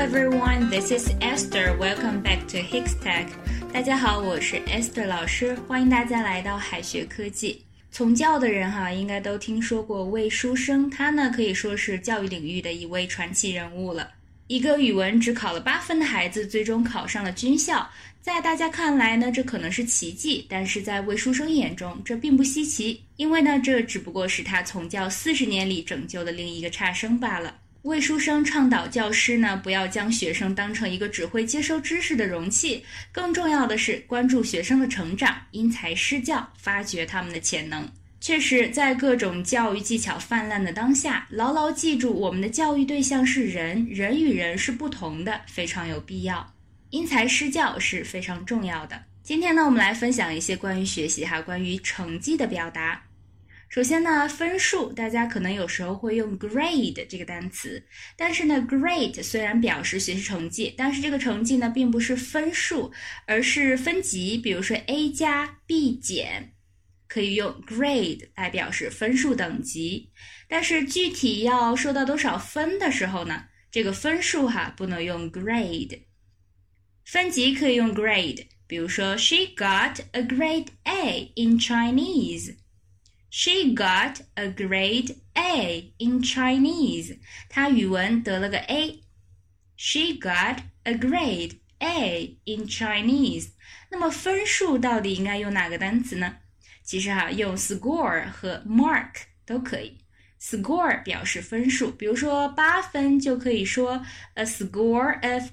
everyone, this is Esther. Welcome back to Hikstech. 大家好，我是 Esther 老师，欢迎大家来到海学科技。从教的人应该都听说过魏书生，他呢可以说是教育领域的一位传奇人物了。一个语文只考了8分的孩子，最终考上了军校。在大家看来呢，这可能是奇迹，但是在魏书生眼中，这并不稀奇，因为呢，这只不过是他从教40年里拯救的另一个差生罢了。魏书生倡导教师呢，不要将学生当成一个只会接收知识的容器，更重要的是关注学生的成长，因材施教，发掘他们的潜能。确实，在各种教育技巧泛滥的当下，牢牢记住我们的教育对象是人，人与人是不同的，非常有必要。因材施教是非常重要的。今天呢，我们来分享一些关于学习关于成绩的表达。首先呢，分数，大家可能有时候会用 grade 这个单词，但是呢 grade 虽然表示学习成绩，但是这个成绩呢并不是分数，而是分级，比如说 A 加 B 减，可以用 grade 来表示分数等级。但是具体要说到多少分的时候呢，这个分数不能用 grade。分级可以用 grade， 比如说 She got a grade A in Chinese。She got a grade A in Chinese. 她语文得了个 A. She got a grade A in Chinese. 那么分数到底应该用哪个单词呢？其实用 score 和 mark 都可以。score 表示分数，比如说8分就可以说 a score of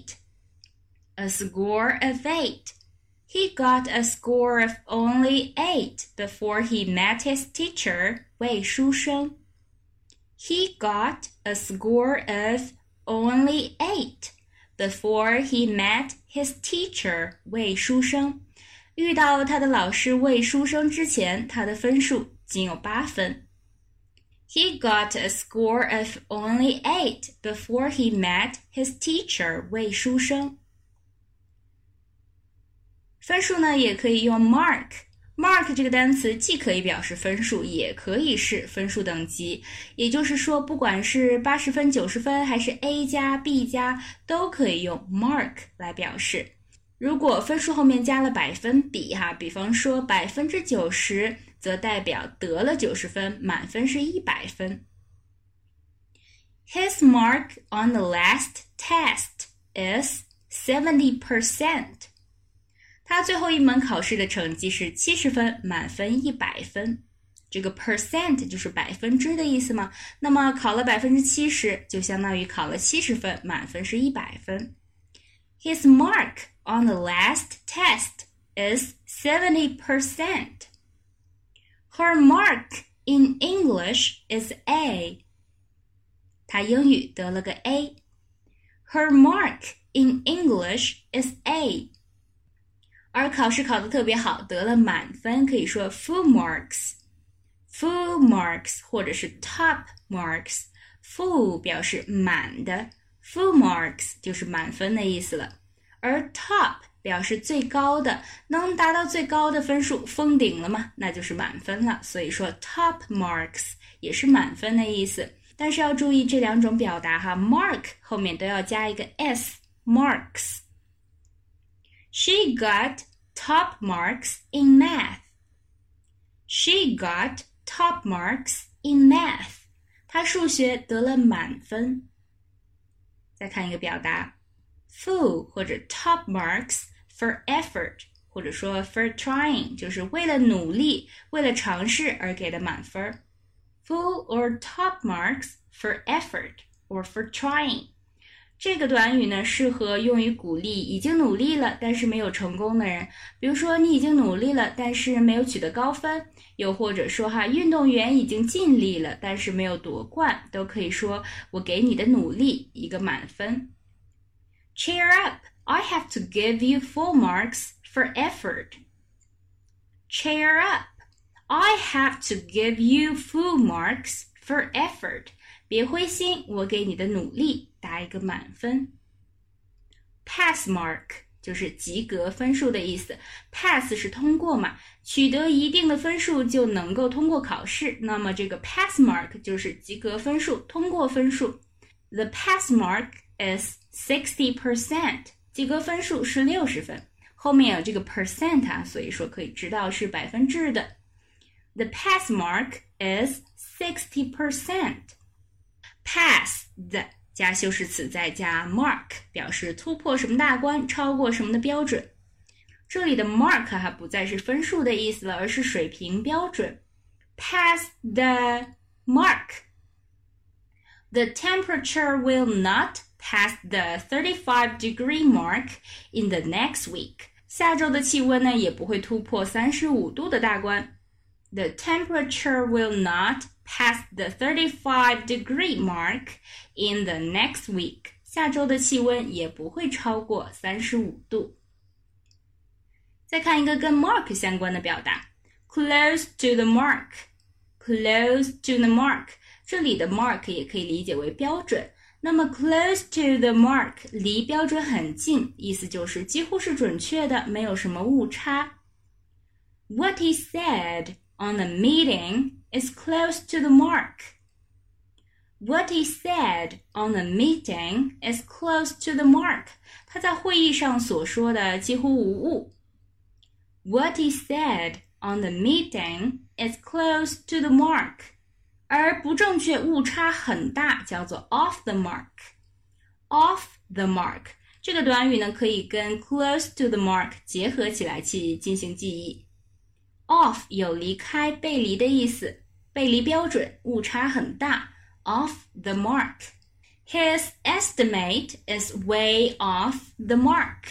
8。A score of 8.He got a score of only 8 before he met his teacher, 魏书生。He got a score of only 8 before he met his teacher, 魏书生。遇到他的老师魏书生之前，他的分数仅有8分。He got a score of only 8 before he met his teacher, 魏书生。分数呢也可以用 mark 这个单词既可以表示分数，也可以是分数等级，也就是说不管是80分90分还是 A 加 B 加都可以用 mark 来表示。如果分数后面加了百分比比方说90%，则代表得了90分，满分是100分。His mark on the last test is 70%。他最后一门考试的成绩是70分，满分100分。这个 percent 就是百分之的意思嘛，那么考了70%就相当于考了70分，满分是100分。His mark on the last test is 70%. Her mark in English is A. 他英语得了个 A. Her mark in English is A.而考试考得特别好，得了满分，可以说 full marks 或者是 top marks。 full 表示满的， full marks 就是满分的意思了。而 top 表示最高的，能达到最高的分数，封顶了嘛，那就是满分了。所以说 top marks 也是满分的意思。但是要注意这两种表达mark 后面都要加一个 s， marks。She got top marks in math. She got top marks in math. 她数学得了满分。再看一个表达 full 或者 top marks for effort 或者说 for trying 就是为了努力，为了尝试而给的满分。Full or top marks for effort or for trying。这个短语呢，适合用于鼓励已经努力了但是没有成功的人，比如说你已经努力了但是没有取得高分，又或者说运动员已经尽力了但是没有夺冠，都可以说我给你的努力一个满分。Cheer up, I have to give you full marks for effort. Cheer up, I have to give you full marks for effort.别灰心，我给你的努力打一个满分。Pass mark 就是及格分数的意思， pass 是通过嘛，取得一定的分数就能够通过考试，那么这个 pass mark 就是及格分数，通过分数。The pass mark is 60%， 及格分数是60分，后面有这个 percent 啊，所以说可以知道是百分制的。The pass mark is 60%. Pass 的加修饰词再加 mark， 表示突破什么大关，超过什么的标准。这里的 mark 还不再是分数的意思了，而是水平标准。Pass the mark. The temperature will not pass the 35-degree mark in the next week. 下周的气温呢，也不会突破35度的大关。The temperature will not pass the 35-degree mark in the next week. 下周的气温也不会超过35度。再看一个跟 mark 相关的表达 ，close to the mark. Close to the mark. 这里的 mark 也可以理解为标准。那么 close to the mark 离标准很近，意思就是几乎是准确的，没有什么误差。What he said on the meeting is close to the mark. What he said on the meeting is close to the mark. 他在会议上所说的几乎无误。What he said on the meeting is close to the mark. 而不正确误差很大，叫做 off the mark. Off the mark 这个短语呢，可以跟 close to the mark 结合起来去进行记忆。Off 有离开、背离的意思，背离标准，误差很大。Off the mark. His estimate is way off the mark.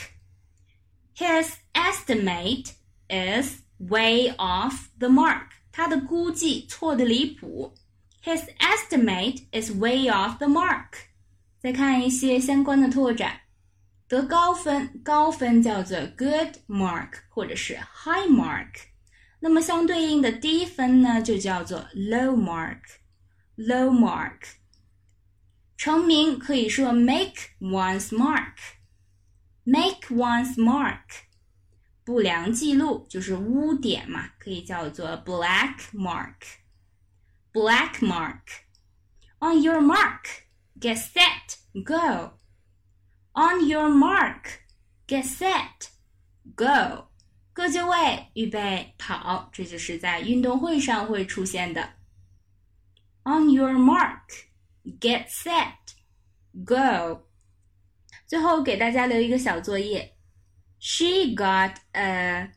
His estimate is way off the mark. 他的估计错得离谱。His estimate is way off the mark. 再看一些相关的拓展。得高分，高分叫做 good mark 或者是 high mark。那么相对应的低分呢，就叫做 low mark. Low mark. 成名可以说 make one's mark. Make one's mark. 不良记录就是污点嘛，可以叫做 black mark. Black mark. On your mark, get set, go. On your mark, get set, go. 各就位，预备，跑，这就是在运动会上会出现的。On your mark, get set, go. 最后给大家留一个小作业。She got of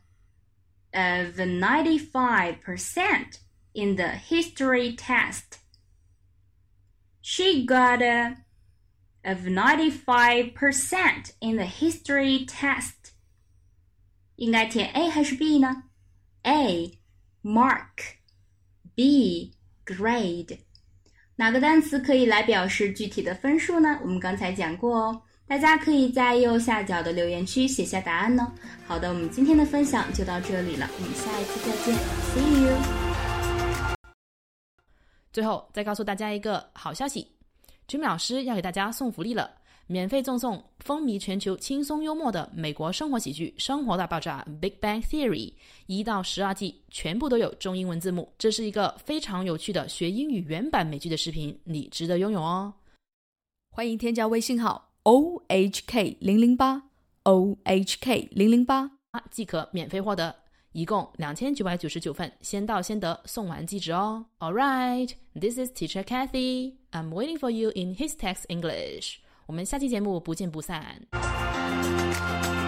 95% in the history test. She got of 95% in the history test. 应该填 A 还是 B 呢？ A. Mark. B. Grade. 哪个单词可以来表示具体的分数呢？我们刚才讲过哦。大家可以在右下角的留言区写下答案哦。好的，我们今天的分享就到这里了，我们下一次再见 See you。 最后再告诉大家一个好消息， Jimmy 老师要给大家送福利了，免费赠送风靡全球轻松幽默的美国生活喜剧《生活大爆炸》 Big Bang Theory 1到12季全部都有中英文字幕，这是一个非常有趣的学英语原版美剧的视频，你值得拥有哦。 欢迎添加微信号OHK008 OHK008 即可免费获得，一共2999份，先到先得，送完即止哦。Alright, this is Teacher Kathy. I'm waiting for you in His Text English. 我们下期节目不见不散。